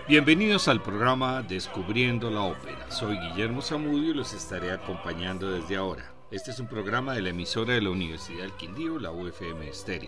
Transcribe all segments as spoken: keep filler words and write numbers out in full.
Bienvenidos al programa Descubriendo la Ópera. Soy Guillermo Zamudio y los estaré acompañando desde ahora. Este es un programa de la emisora de la Universidad del Quindío, la U F M Estéreo.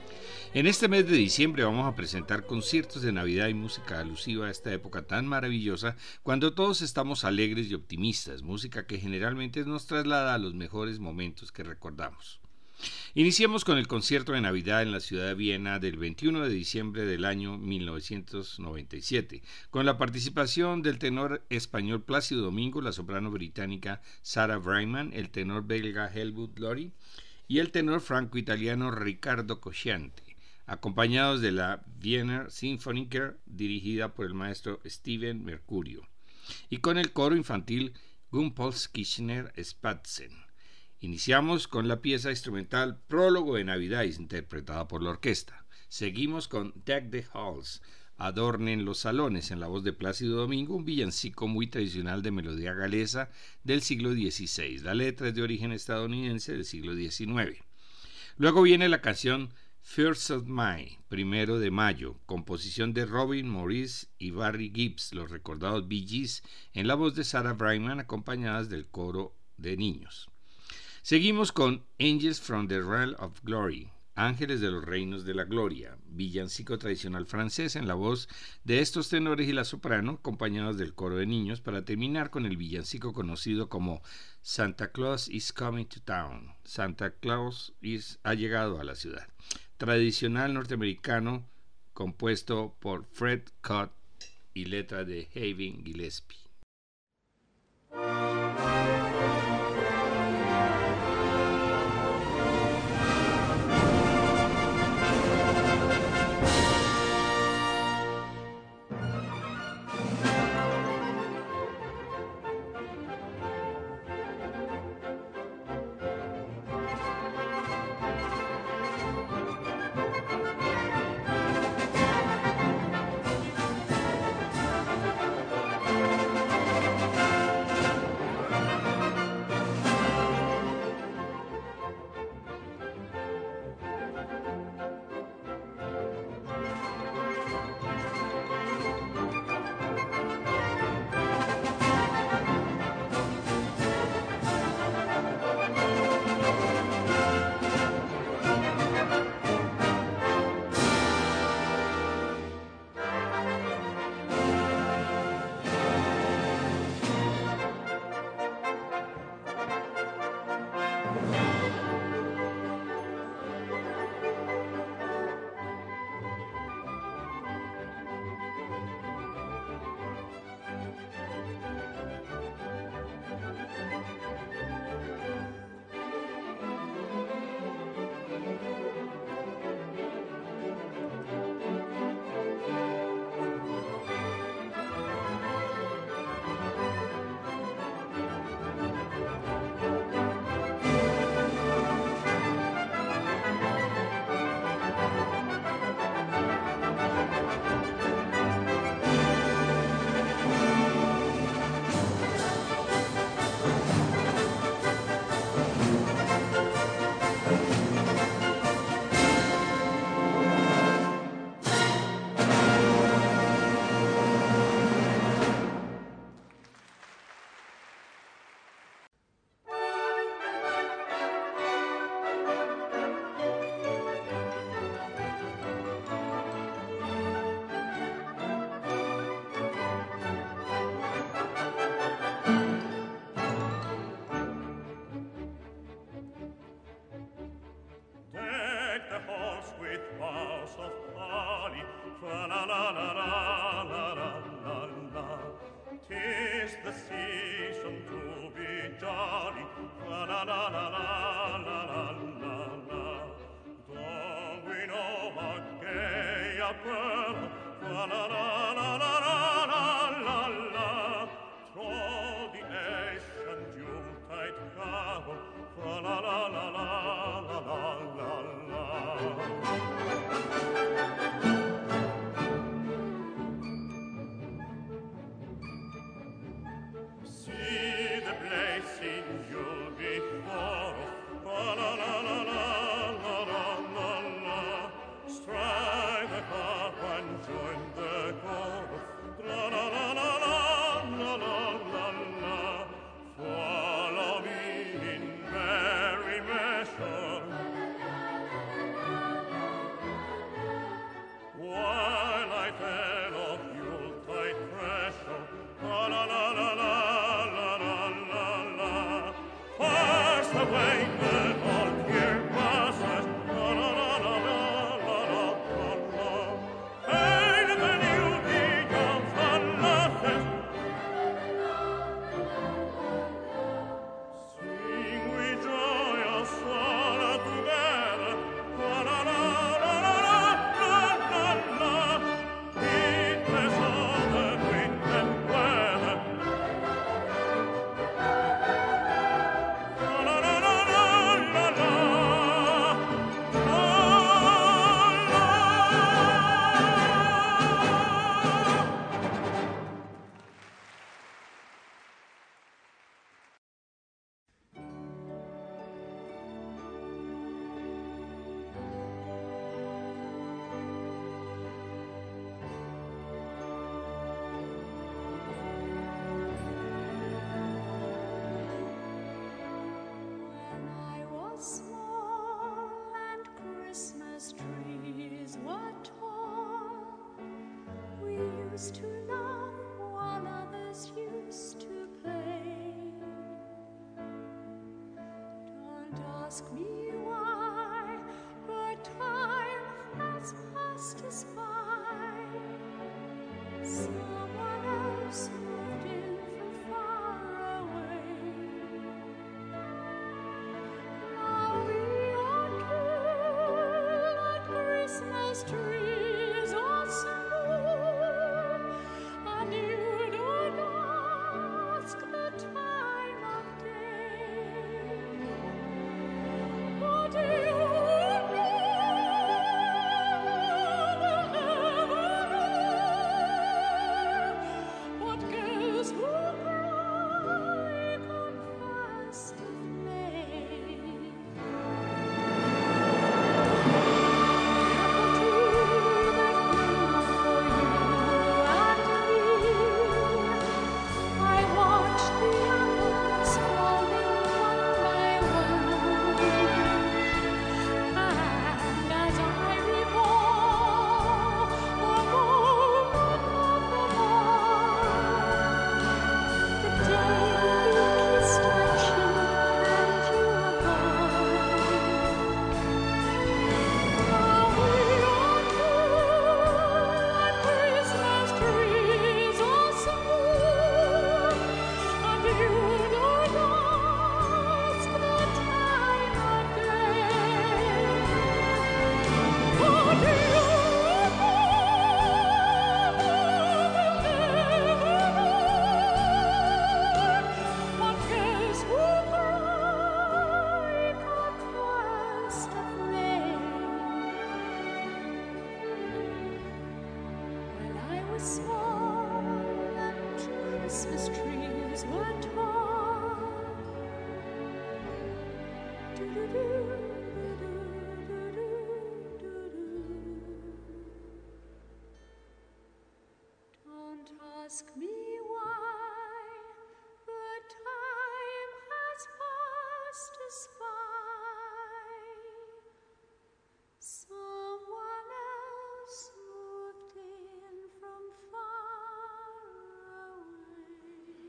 En este mes de diciembre vamos a presentar conciertos de Navidad y música alusiva a esta época tan maravillosa cuando todos estamos alegres y optimistas, música que generalmente nos traslada a los mejores momentos que recordamos. Iniciemos con el concierto de Navidad en la ciudad de Viena del veintiuno de diciembre del año mil novecientos noventa y siete, con la participación del tenor español Plácido Domingo, la soprano británica Sarah Brightman, el tenor belga Helmut Lory y el tenor franco-italiano Riccardo Cosciante, acompañados de la Wiener Sinfoniker dirigida por el maestro Steven Mercurio, y con el coro infantil Gumpolskirchener Spatzen. Iniciamos con la pieza instrumental Prólogo de Navidad, interpretada por la orquesta. Seguimos con Deck the Halls, Adornen los salones, en la voz de Plácido Domingo, un villancico muy tradicional de melodía galesa del siglo dieciséis. La letra es de origen estadounidense del siglo diecinueve. Luego viene la canción First of May, Primero de Mayo, composición de Robin Morris y Barry Gibbs, los recordados Bee Gees, en la voz de Sarah Brightman, acompañadas del coro de niños. Seguimos con Angels from the Realm of Glory, Ángeles de los Reinos de la Gloria, villancico tradicional francés en la voz de estos tenores y la soprano, acompañados del coro de niños, para terminar con el villancico conocido como Santa Claus is Coming to Town, Santa Claus is, ha llegado a la ciudad, tradicional norteamericano compuesto por Fred Cott y letra de Hayden Gillespie. Join the chorus. used to laugh while others used to play. Don't ask me why, but time has passed us by. Someone else moved in from far away. Now we are two like Christmas trees all summer, and you don't ask the time of day. But you know, never know what girls who cry on first of May. I watched the apples falling one by one, and as I recall the moment of them all, the day we kissed my cheek and you were gone. Now we are two like Christmas trees all summer, and you don't ask the time of day. But you know, never know what girls who cry come first of May. When I was small and Christmas trees were tall, do-do-do, do-do-do-do-do-do. Don't ask me why, but time has passed us by. Someone else moved in from far away.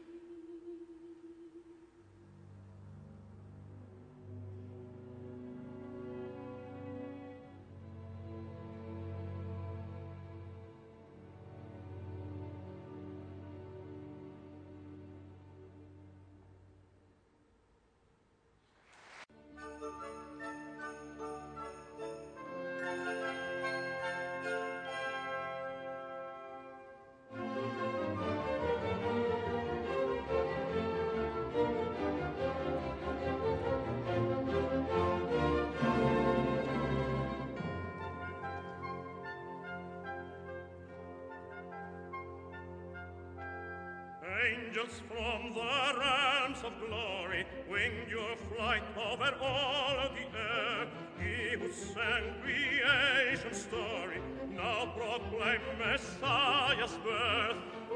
Angels from the realms of glory, wing your flight over all of the air. He who sang creation's story, now proclaim Messiah's birth.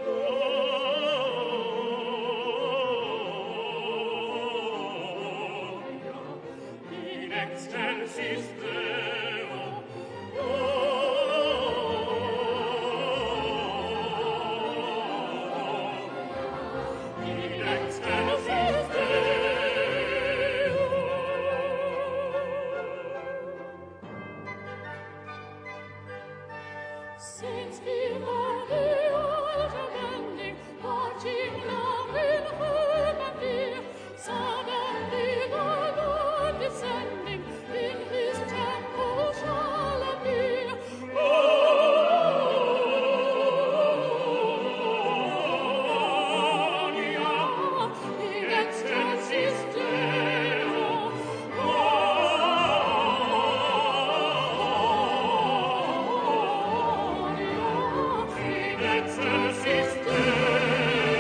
Gloria in excelsis Deo. In excelsis Deo. Since before the world abandoned, watching love in human fear, suddenly the Lord descending in His temple shall appear. Gloria in excelsis Deo. In excelsis Deo.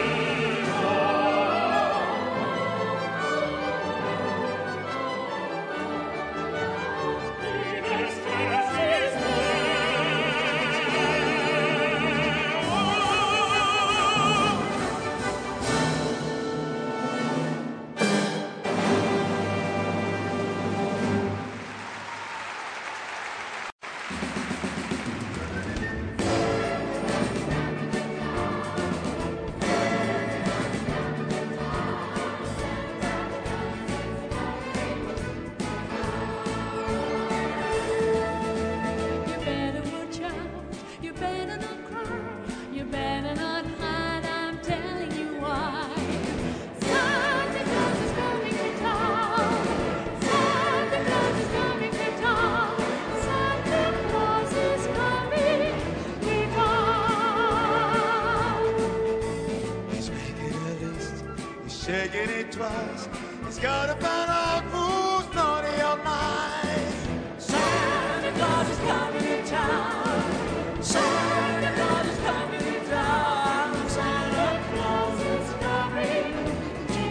twice. He's got to find out who's naughty or nice. Santa Claus is coming to town. Santa Claus is coming to town. Santa Claus is coming to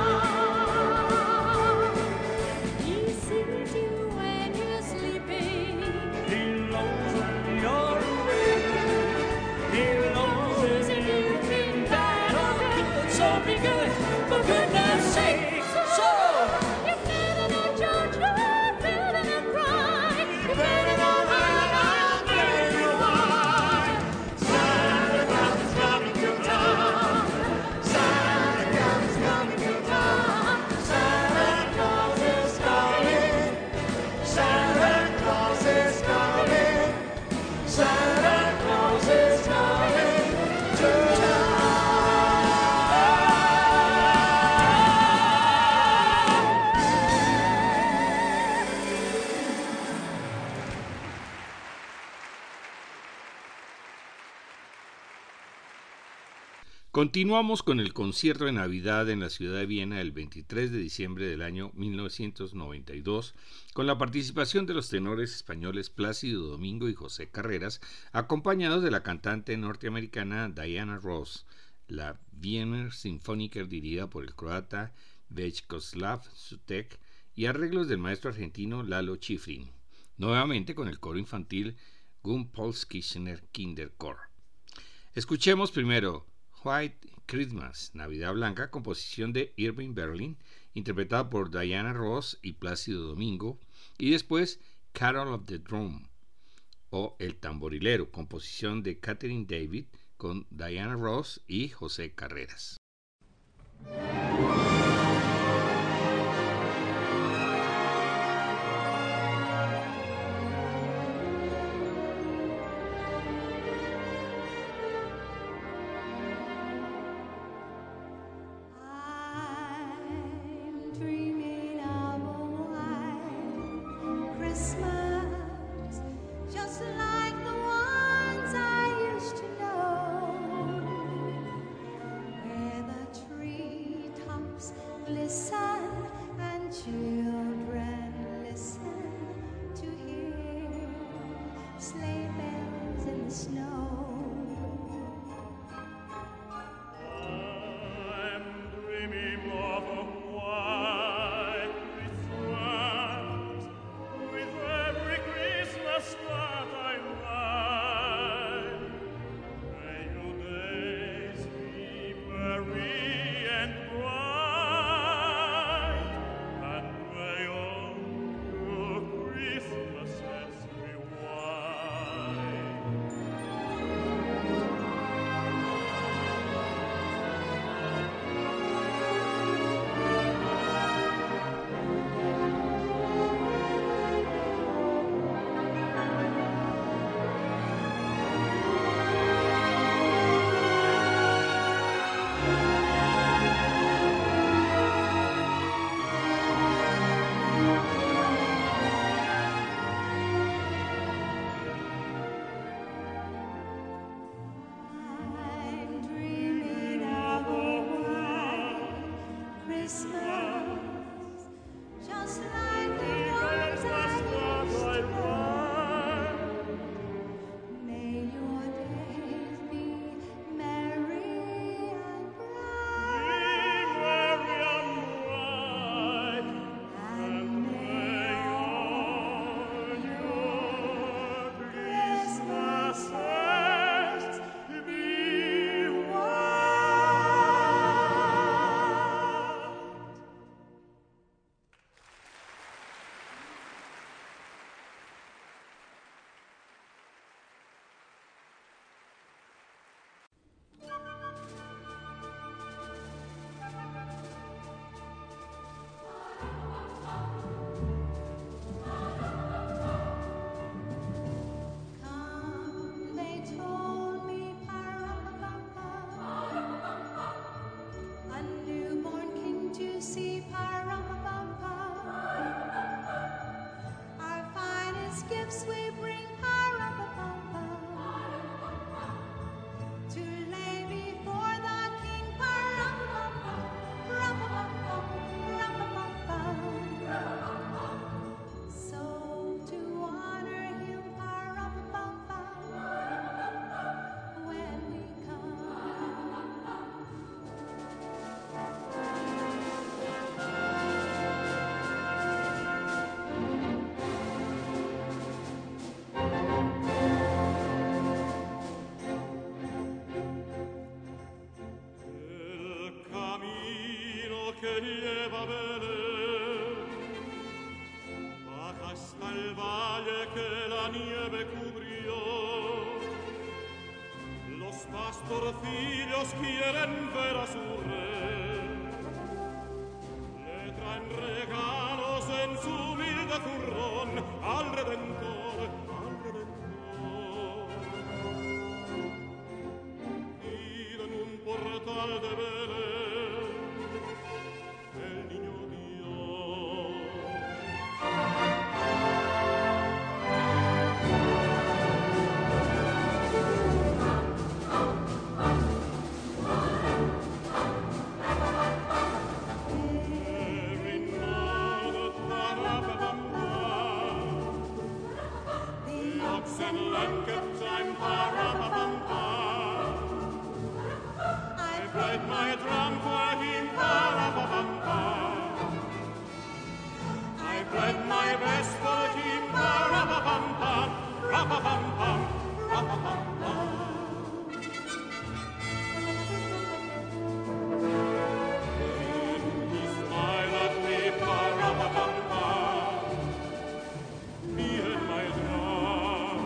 town. He sees you when you're sleeping. He knows when you're awake. He knows if you've been bad or good. So be good, for goodness sake. So, You better not judge her, better not cry. You better not hide out, better not lie. Santa Claus is coming to town. Santa Claus is coming to town. Santa Claus is coming. Santa Claus is coming. Santa Claus is coming to town. Continuamos con el concierto de Navidad en la ciudad de Viena el veintitrés de diciembre del año mil novecientos noventa y dos, con la participación de los tenores españoles Plácido Domingo y José Carreras, acompañados de la cantante norteamericana Diana Ross, la Wiener Sinfoniker dirigida por el croata Vyacheslav Sutek y arreglos del maestro argentino Lalo Schifrin, nuevamente con el coro infantil Gumpolskirchener Kinderchor. Escuchemos primero White Christmas, Navidad Blanca, composición de Irving Berlin, interpretada por Diana Ross y Plácido Domingo, y después Carol of the Drum, o El Tamborilero, composición de Catherine David, con Diana Ross y José Carreras. I'm dreaming of a white Christmas, just like the ones I used to know, where the treetops glisten and children listen to hear sleigh bells in the snow. I'm dreaming of a white Christmas, with every Christmas that I ride. May your days be merry and bright, and may all your Christmases be white. I'm dreaming of a white Christmas, just like the ones I used to know. May your days be merry and bright, and may all your Christmases be white. Come, they told me, pa-rum-pa-bum-pa, a newborn king to see, pa-rum-pa-bum-pa. Our finest gifts we bring, pa-rum-pa-bum-pa, to lay before the king, pa-rum-pa-bum, rum-pa-bum-pa. lleva a Belén. Baja hasta el valle que la nieve cubrió. Los pastorcillos quieren ver a su rey. Le traen regalos en su humilde zurrón al Redentor, al Redentor. Y en un portal de Belén, el niño Dios. I played my drum for him, pa-ra-pa-pam-pa. I played my best for him, pa-ra-pa-pam-pam, ra-pa-pam-pam, ra-pa-pam-pam. Then he smiled at me, pa-ra-pa-pam-pam, me and my drum.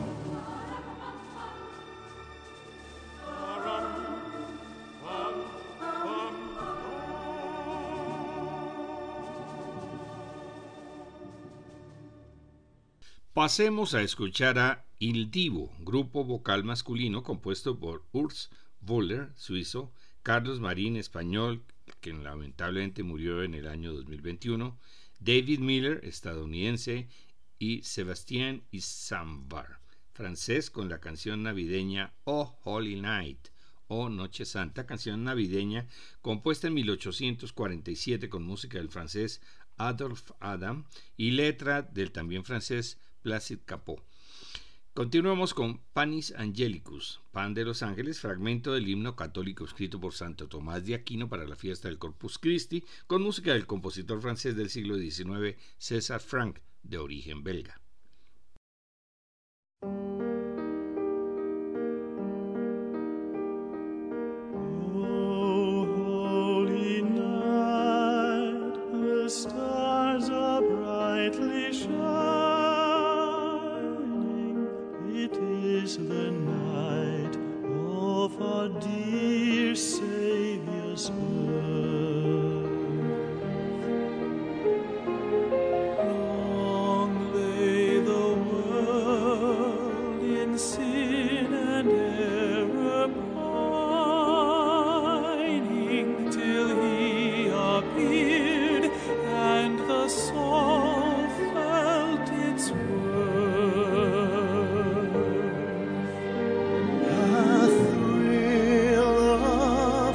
Pasemos a escuchar a Il Divo, grupo vocal masculino compuesto por Urs Voller, suizo, Carlos Marín, español, que lamentablemente murió en el año dos mil veintiuno, David Miller, estadounidense, y Sébastien Isambar, francés, con la canción navideña Oh Holy Night, o Noche Santa, canción navideña compuesta en mil ochocientos cuarenta y siete con música del francés Adolphe Adam y letra del también francés Placide Cappeau. Continuamos con Panis Angelicus, Pan de los Ángeles, fragmento del himno católico escrito por Santo Tomás de Aquino para la fiesta del Corpus Christi, con música del compositor francés del siglo diecinueve César Franck, de origen belga. Stars are brightly shining. It is the night of our dear Savior's birth. Long lay the world in sin and error pining till He appeared, and the soul felt its worth. A thrill of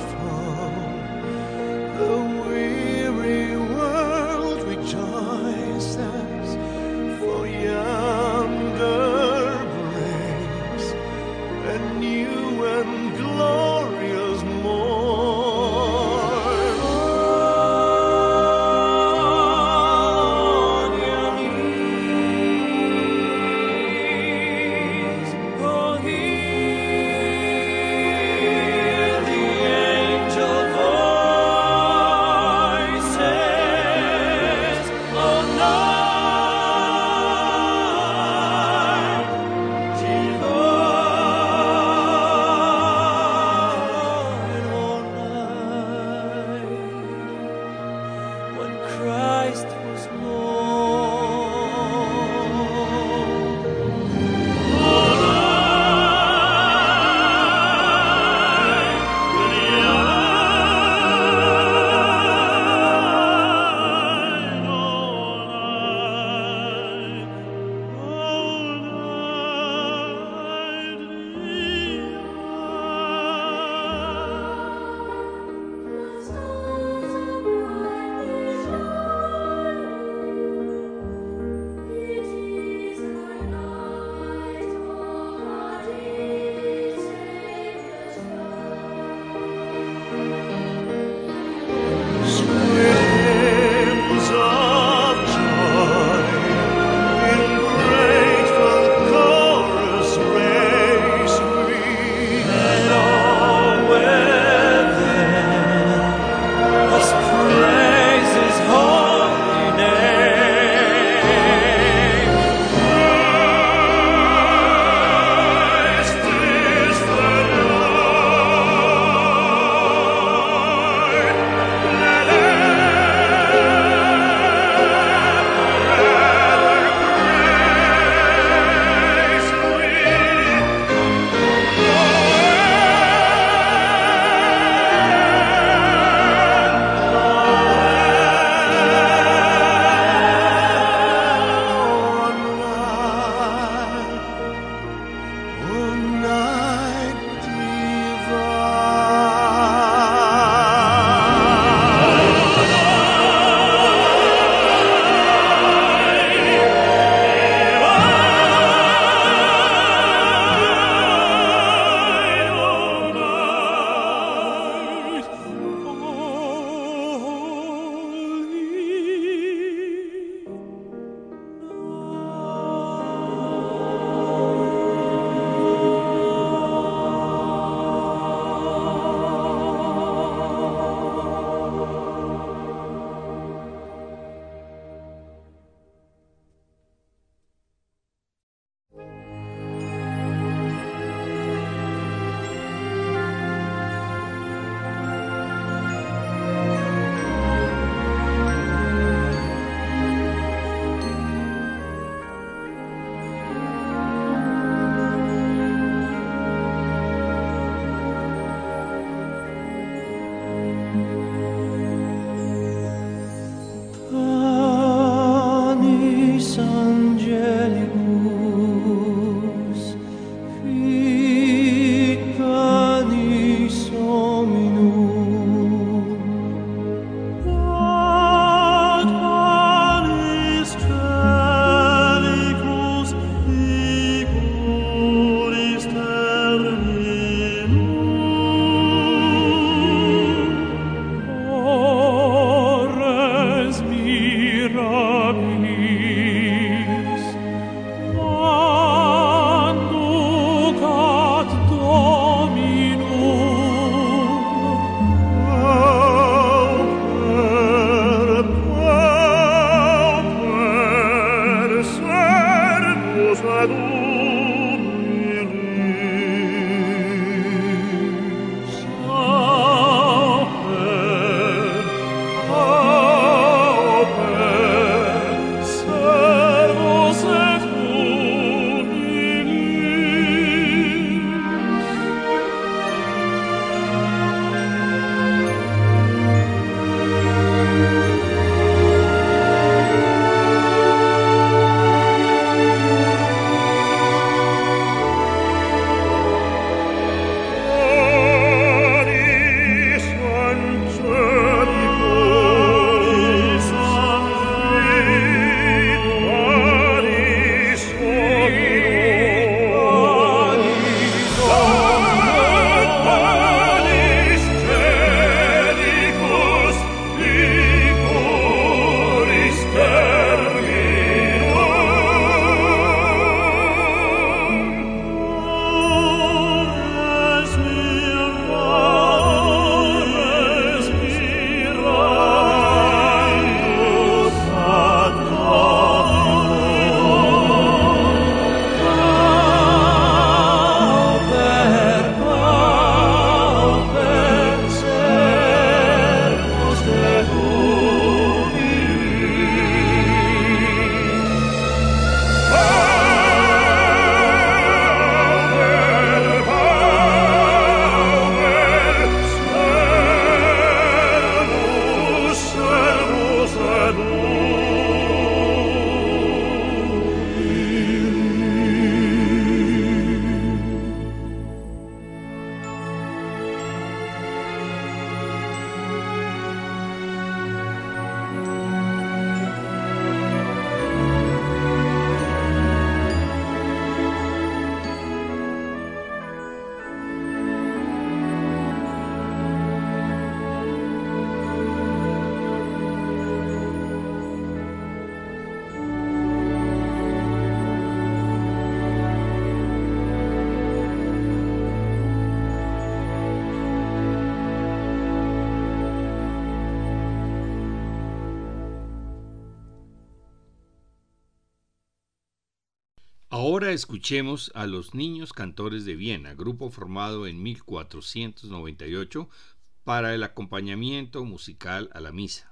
Ahora escuchemos a los Niños Cantores de Viena, grupo formado en mil cuatrocientos noventa y ocho para el acompañamiento musical a la misa.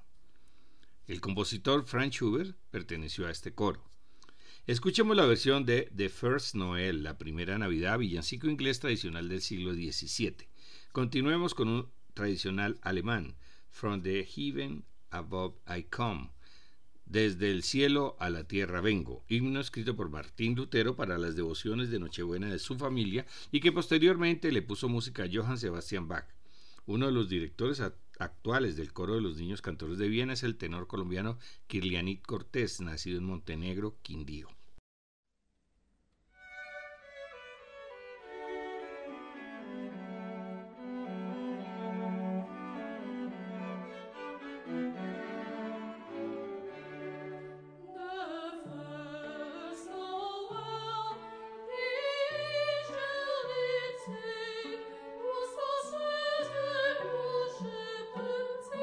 El compositor Franz Schubert perteneció a este coro. Escuchemos la versión de The First Noel, la primera Navidad, villancico inglés tradicional del siglo diecisiete. Continuemos con un tradicional alemán, From the Heaven Above I Come, Desde el cielo a la tierra vengo, himno escrito por Martín Lutero para las devociones de Nochebuena de su familia y que posteriormente le puso música a Johann Sebastian Bach. Uno de los directores actuales del coro de los Niños Cantores de Viena es el tenor colombiano Kirlianit Cortés, nacido en Montenegro, Quindío.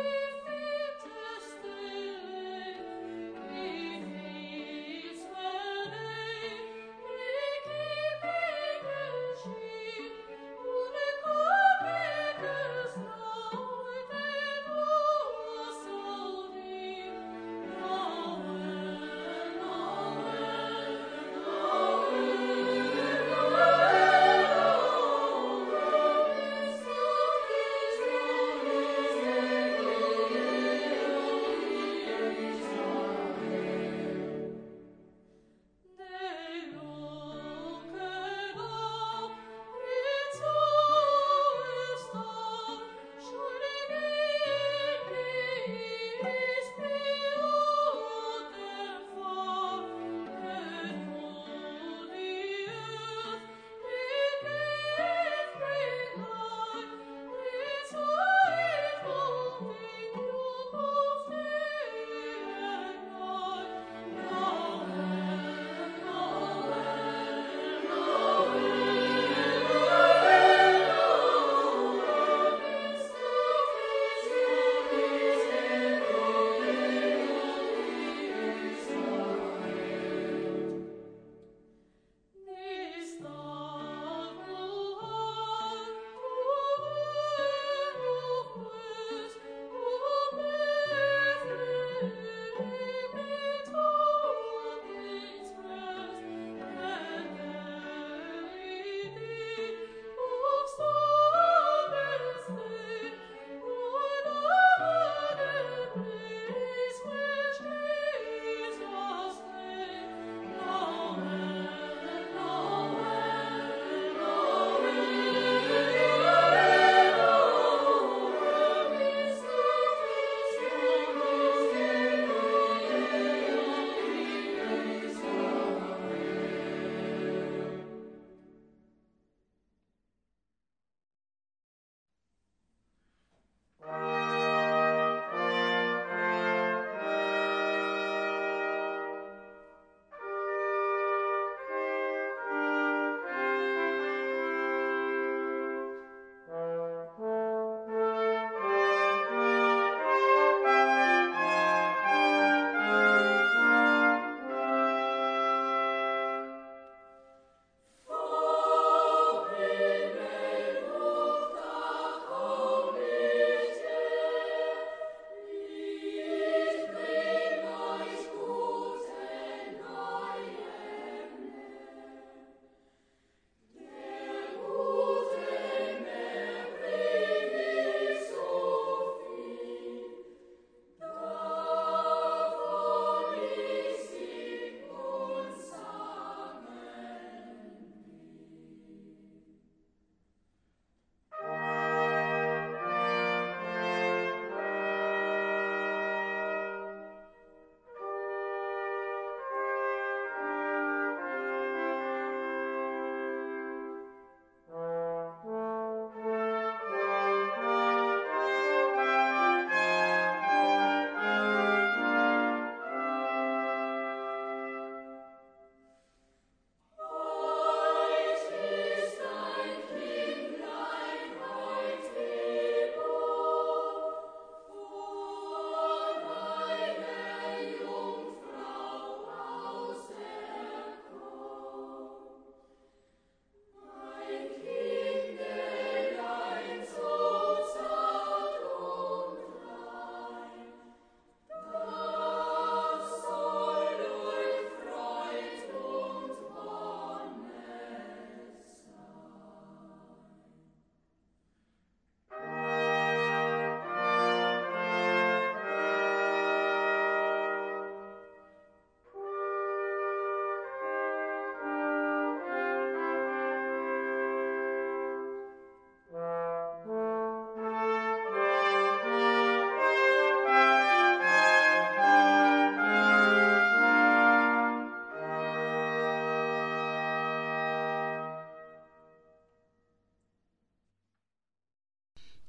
Well,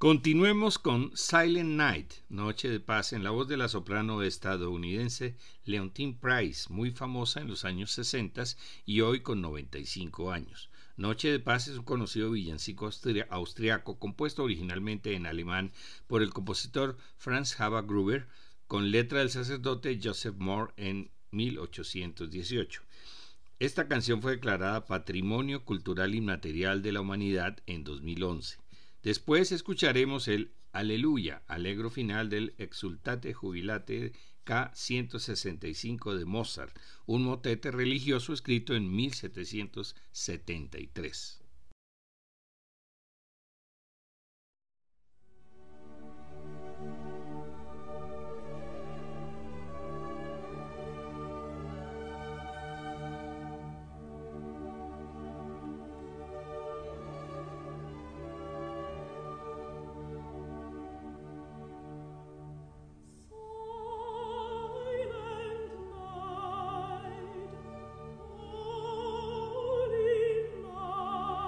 Continuemos con Silent Night, Noche de Paz, en la voz de la soprano estadounidense Leontyne Price, muy famosa en los años sesenta y hoy con noventa y cinco años. Noche de Paz es un conocido villancico austri- austriaco compuesto originalmente en alemán por el compositor Franz Xaver Gruber con letra del sacerdote Joseph Mohr en mil ochocientos dieciocho. Esta canción fue declarada Patrimonio Cultural Inmaterial de la Humanidad en dos mil once. Después escucharemos el Aleluya, alegro final del Exultate Jubilate K ciento sesenta y cinco de Mozart, un motete religioso escrito en mil setecientos setenta y tres. Silent night, holy night.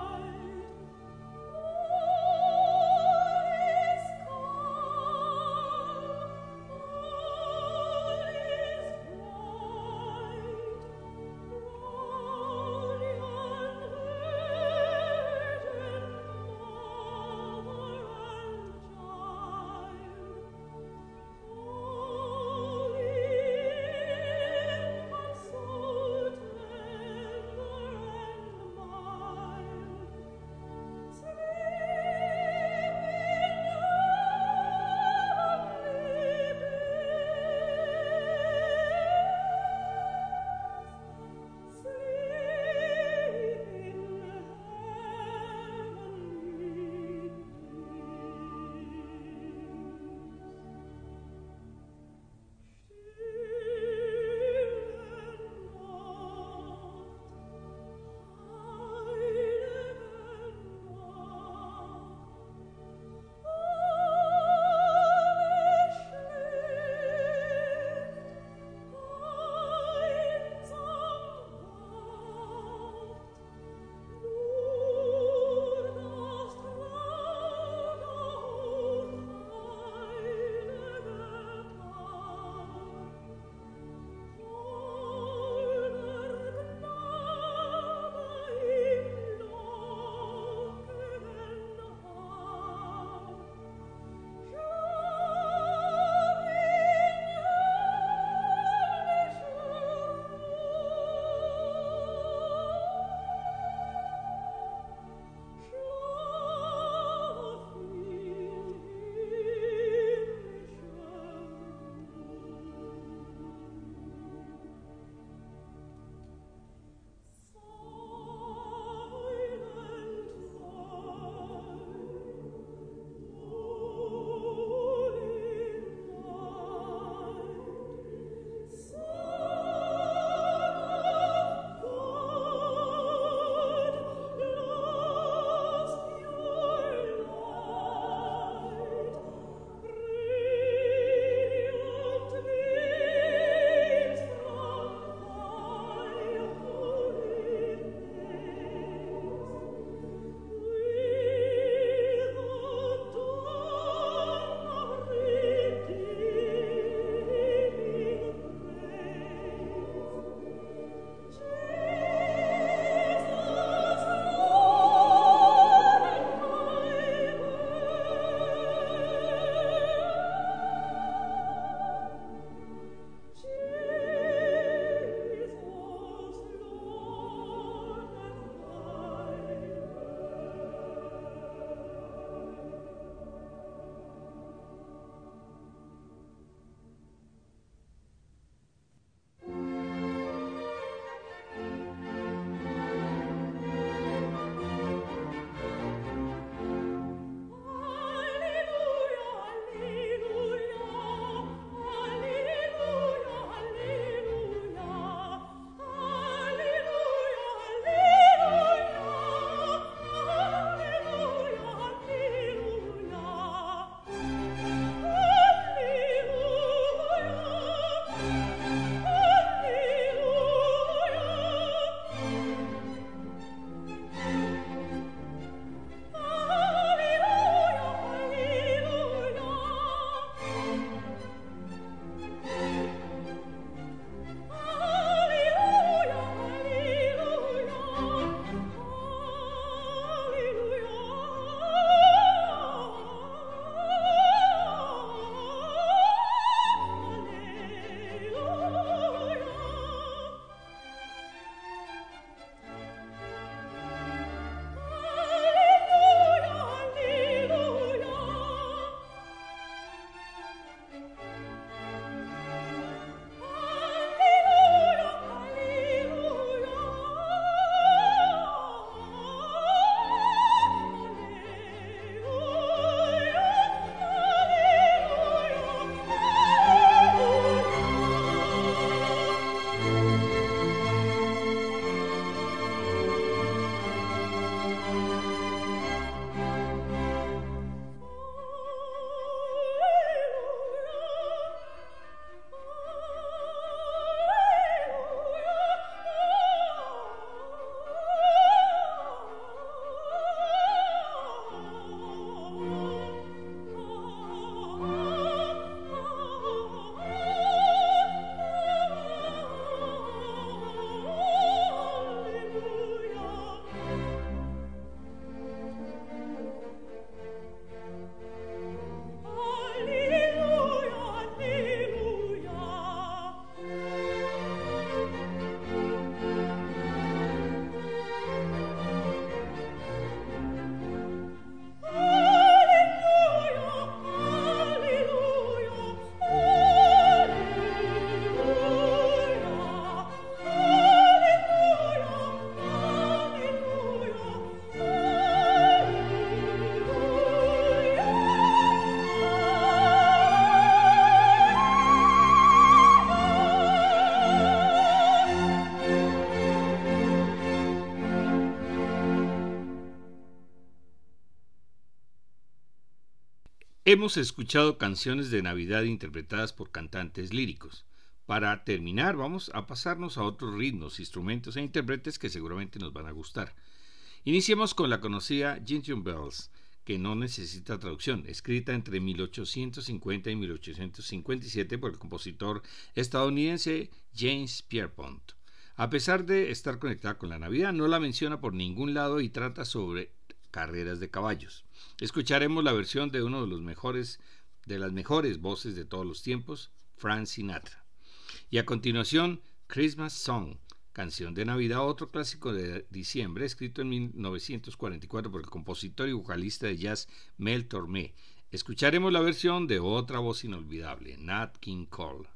Hemos escuchado canciones de Navidad interpretadas por cantantes líricos. Para terminar, vamos a pasarnos a otros ritmos, instrumentos e intérpretes que seguramente nos van a gustar. Iniciemos con la conocida Jingle Bells, que no necesita traducción, escrita entre mil ochocientos cincuenta y mil ochocientos cincuenta y siete por el compositor estadounidense James Pierpont. A pesar de estar conectada con la Navidad, no la menciona por ningún lado y trata sobre carreras de caballos. Escucharemos la versión de uno de los mejores, de las mejores voces de todos los tiempos, Frank Sinatra. Y a continuación, Christmas Song, canción de Navidad, otro clásico de diciembre, escrito en mil novecientos cuarenta y cuatro por el compositor y vocalista de jazz Mel Tormé. Escucharemos la versión de otra voz inolvidable, Nat King Cole.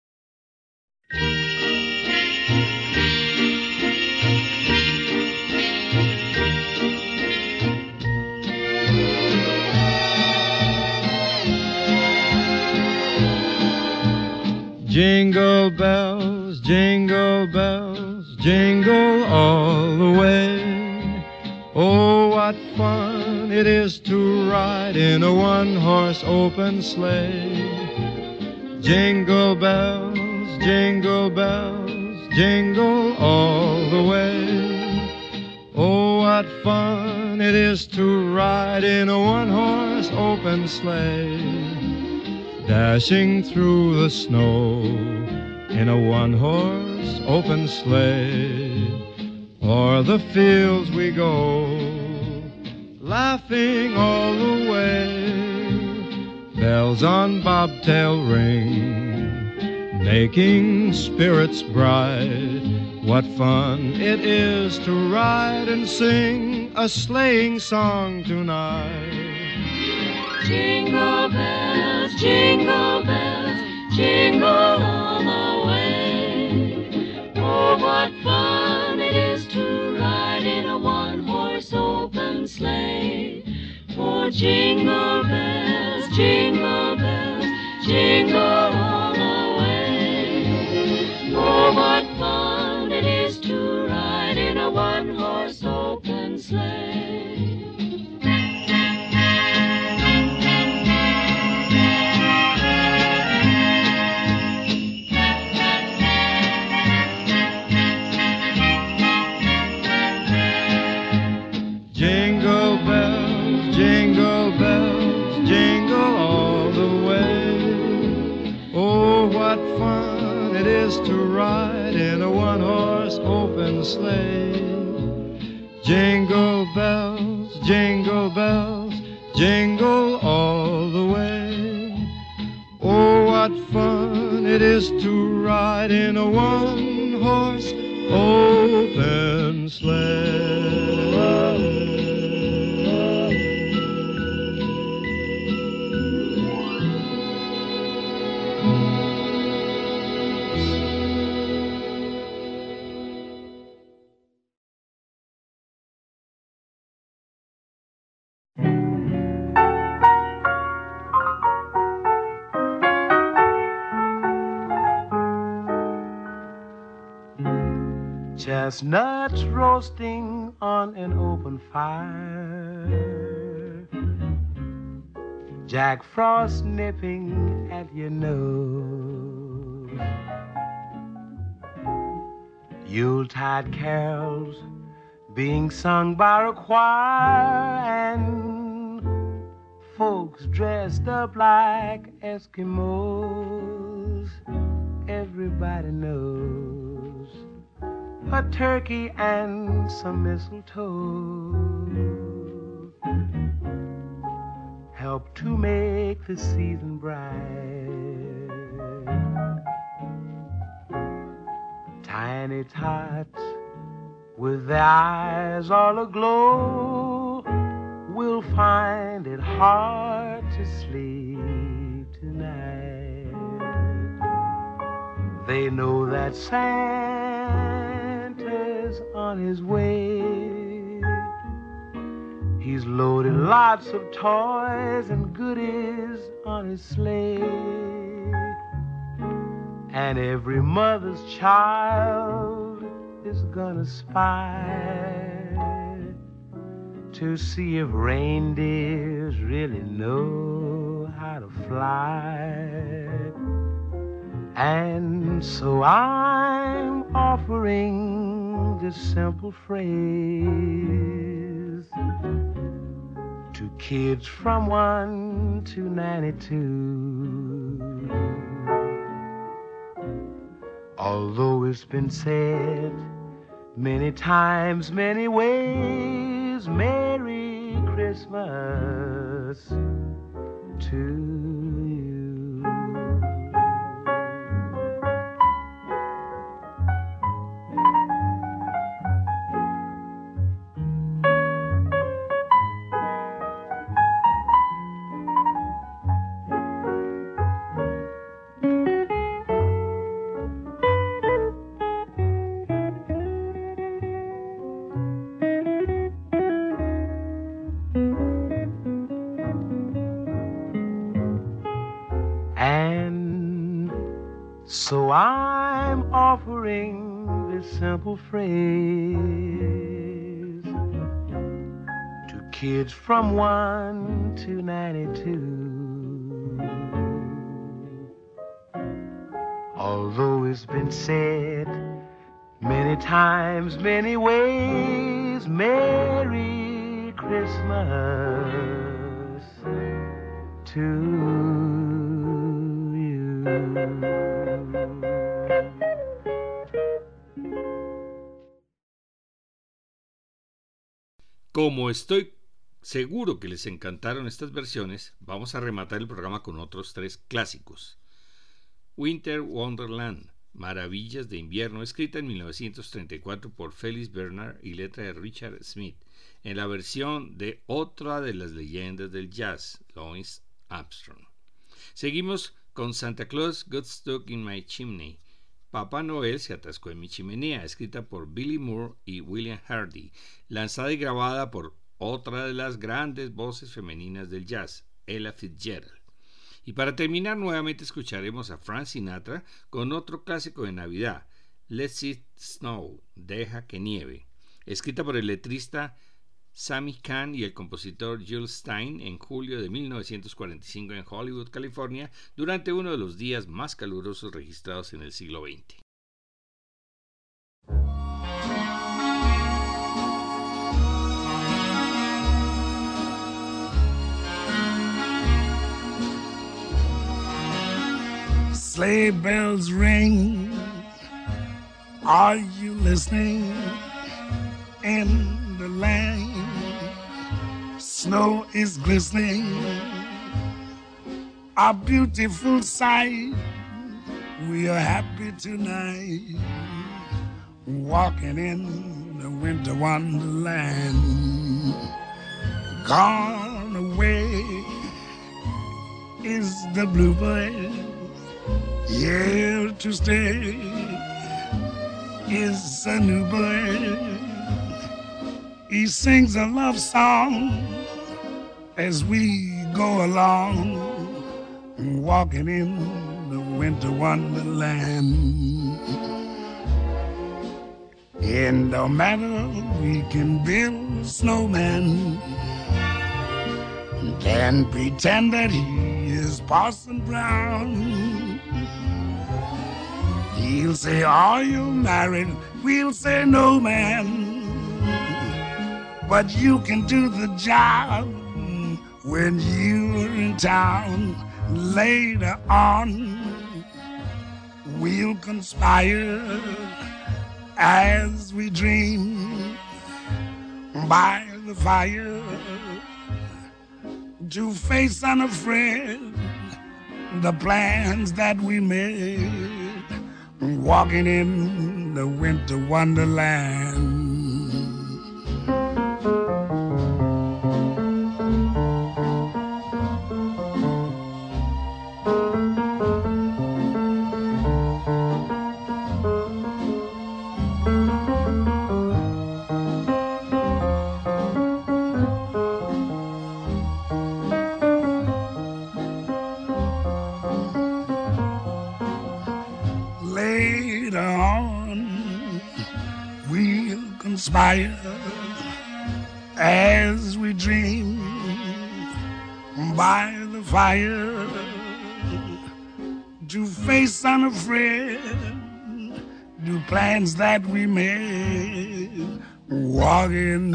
Jingle bells, jingle bells, jingle all the way. Oh, what fun it is to ride in a one-horse open sleigh. Jingle bells, jingle bells, jingle all the way. Oh, what fun it is to ride in a one-horse open sleigh. Dashing through the snow in a one-horse open sleigh. O'er the fields we go, laughing all the way. Bells on bobtail ring, making spirits bright. What fun it is to ride and sing a sleighing song tonight. Jingle bells, jingle bells, jingle all the way. Oh, what fun it is to ride in a one-horse open sleigh. Oh, jingle bells, jingle bells, jingle all the way. Oh, what fun it is to ride in a one-horse open sleigh. To ride in a one-horse open sleigh. Jingle bells, jingle bells, jingle all the way. Oh, what fun it is to ride in a one-horse open sleigh. Chestnuts roasting on an open fire, Jack Frost nipping at your nose, Yuletide carols being sung by a choir, and folks dressed up like Eskimos. Everybody knows a turkey and some mistletoe help to make the season bright. Tiny tots with their eyes all aglow will find it hard to sleep tonight. They know that Santa's on his way. He's loaded lots of toys and goodies on his sleigh. And every mother's child is gonna spy to see if reindeers really know know how to fly. And so I'm offering this simple phrase to kids from one to ninety-two. Although it's been said many times, many ways, Merry Christmas to you. So I'm offering this simple phrase to kids from one to ninety-two. Although it's been said many times, many ways, Merry Christmas to you. Como estoy seguro que les encantaron estas versiones, vamos a rematar el programa con otros tres clásicos. Winter Wonderland, Maravillas de Invierno, escrita en mil novecientos treinta y cuatro por Felix Bernard y letra de Richard Smith, en la versión de otra de las leyendas del jazz, Louis Armstrong. Seguimos con Santa Claus Got Stuck in My Chimney, Papá Noel se atascó en mi chimenea, escrita por Billy Moore y William Hardy, lanzada y grabada por otra de las grandes voces femeninas del jazz, Ella Fitzgerald. Y para terminar, nuevamente escucharemos a Frank Sinatra con otro clásico de Navidad, Let It Snow, Deja que nieve, escrita por el letrista Sammy Cahn y el compositor Jules Stein en julio de mil novecientos cuarenta y cinco en Hollywood, California, durante uno de los días más calurosos registrados en el siglo veinte. Sleigh bells ring, are you listening? In the lane, snow is glistening, a beautiful sight. We are happy tonight, walking in the winter wonderland. Gone away is the bluebird, here to stay is a new bird. He sings a love song as we go along, walking in the winter wonderland. And no matter we can build a snowman, can pretend that he is Parson Brown. He'll say, are you married? We'll say, no, man. But you can do the job when you're in town. Later on, we'll conspire as we dream by the fire to face unafraid the plans that we made, walking in the winter wonderland. Conspire as we dream by the fire to face unafraid the plans that we made, walking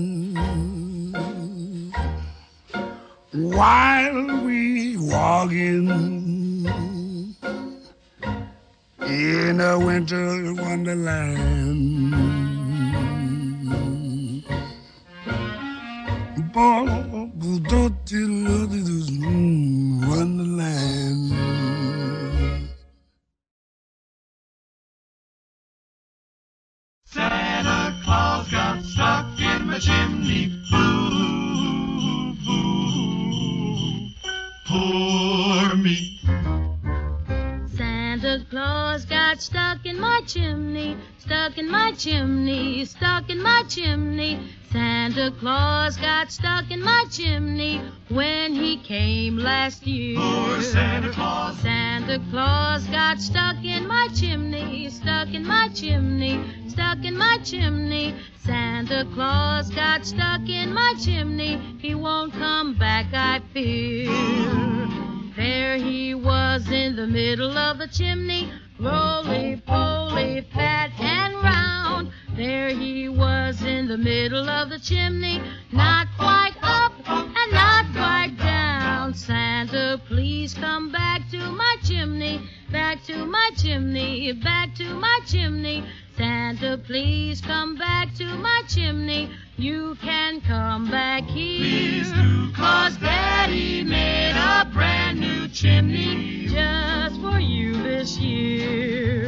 while we walking in a winter wonderland. Wonderland. Santa Claus got stuck in my chimney. Boo, boo, poor me. Santa Claus got stuck in my chimney, stuck in my chimney, stuck in my chimney. Santa Claus got stuck in my chimney when he came last year. Poor Santa Claus. Santa Claus got stuck in my chimney, stuck in my chimney, stuck in my chimney. Santa Claus got stuck in my chimney. He won't come back, I fear. There he was in the middle of the chimney, roly-poly, fat and round. There he was in the middle of the chimney, not quite up and not quite down. Santa, please come back to my chimney, back to my chimney, back to my chimney. Santa, please come back to my chimney. You can come back here. Please do, 'cause Daddy made a brand new chimney just for you this year.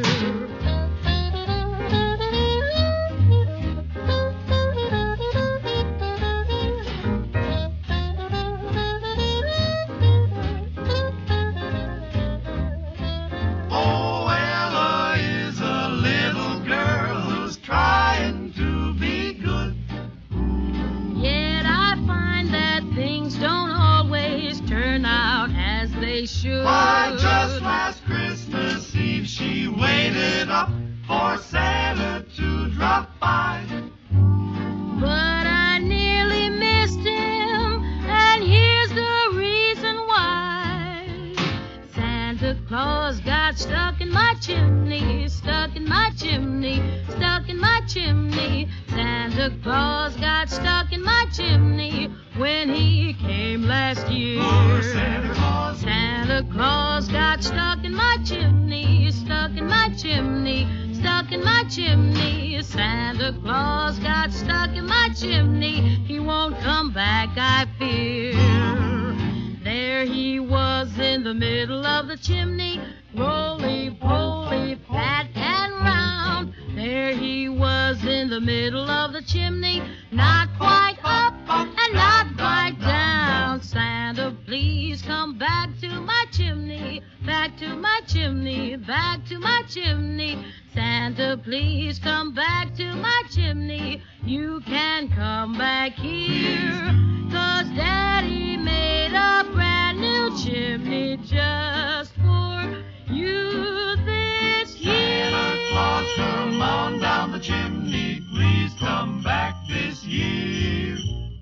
Oh, Ella is a little girl who's trying to be good. Yet I find that things don't always turn out as they should. Why, just last Christmas Eve she waited up for Santa to drop by. But I nearly missed him, and here's the reason why. Santa Claus got stuck in my chimney, stuck in my chimney, stuck in my chimney. Santa Claus got stuck in my chimney when he came last year. Poor Santa Claus. Santa Claus got stuck in my chimney, stuck in my chimney, stuck in my chimney. Santa Claus got stuck in my chimney. He won't come back, I fear. There he was in the middle of the chimney, roly-poly, fat and round. There he was in the middle of the chimney, not quite up and not quite down. Santa, please come back to my chimney, back to my chimney, back to my chimney. Santa, please come back to my chimney. You can come back here, 'cause Daddy made a brand new chimney just for you this year. Santa Claus, come on down the chimney. Please come back this year.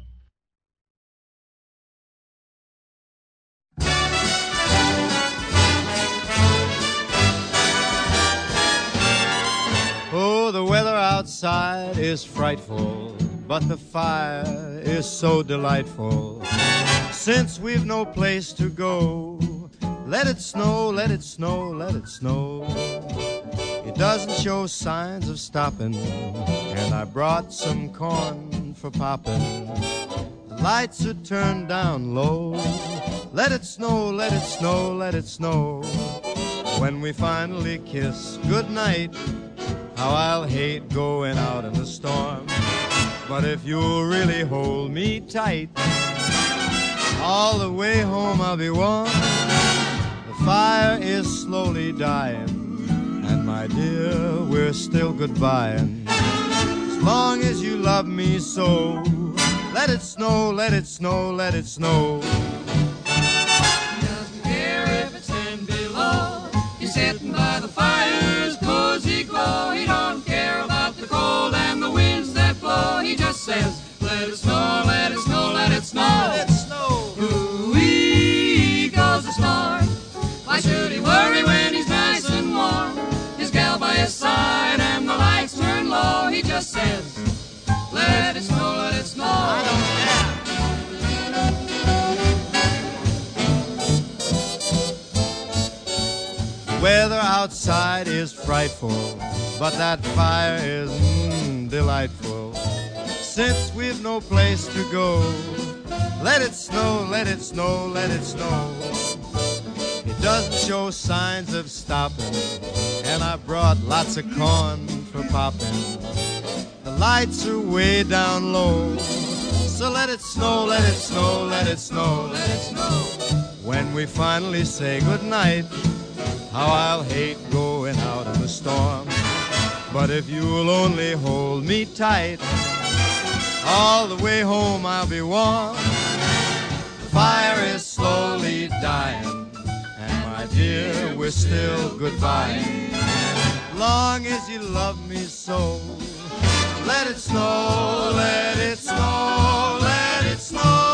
Oh, the weather outside is frightful, but the fire is so delightful. Since we've no place to go, let it snow, let it snow, let it snow. It doesn't show signs of stopping, and I brought some corn for popping. The lights are turned down low. Let it snow, let it snow, let it snow. When we finally kiss goodnight, how I'll hate going out in the storm. But if you'll really hold me tight, all the way home I'll be warm. The fire is slowly dying, and my dear, we're still goodbying. As long as you love me so, let it snow, let it snow, let it snow. He doesn't care if it's ten below. He's sitting by the fire's cozy glow. He don't care about the cold and the winds that blow. He just says, let it snow, let it snow, let it snow. Let it snow. Ooh-wee. outside is frightful, but that fire is mm, delightful. Since we've no place to go, let it snow, let it snow, let it snow. It doesn't show signs of stopping, and I brought lots of corn for popping. The lights are way down low, so let it snow, let it snow, let it snow, let it snow. When we finally say goodnight, how I'll hate going out in the storm. But if you'll only hold me tight, all the way home I'll be warm. The fire is slowly dying, and my dear, we're still goodbye. Long as you love me so, let it snow, let it snow, let it snow.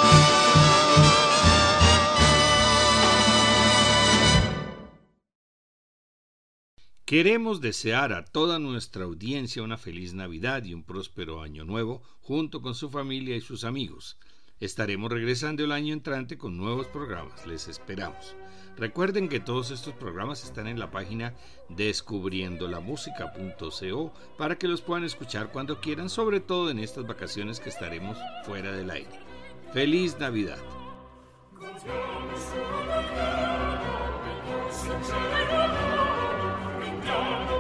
Queremos desear a toda nuestra audiencia una feliz Navidad y un próspero año nuevo junto con su familia y sus amigos. Estaremos regresando el año entrante con nuevos programas. Les esperamos. Recuerden que todos estos programas están en la página descubriendo la música punto co para que los puedan escuchar cuando quieran, sobre todo en estas vacaciones que estaremos fuera del aire. ¡Feliz Navidad! Down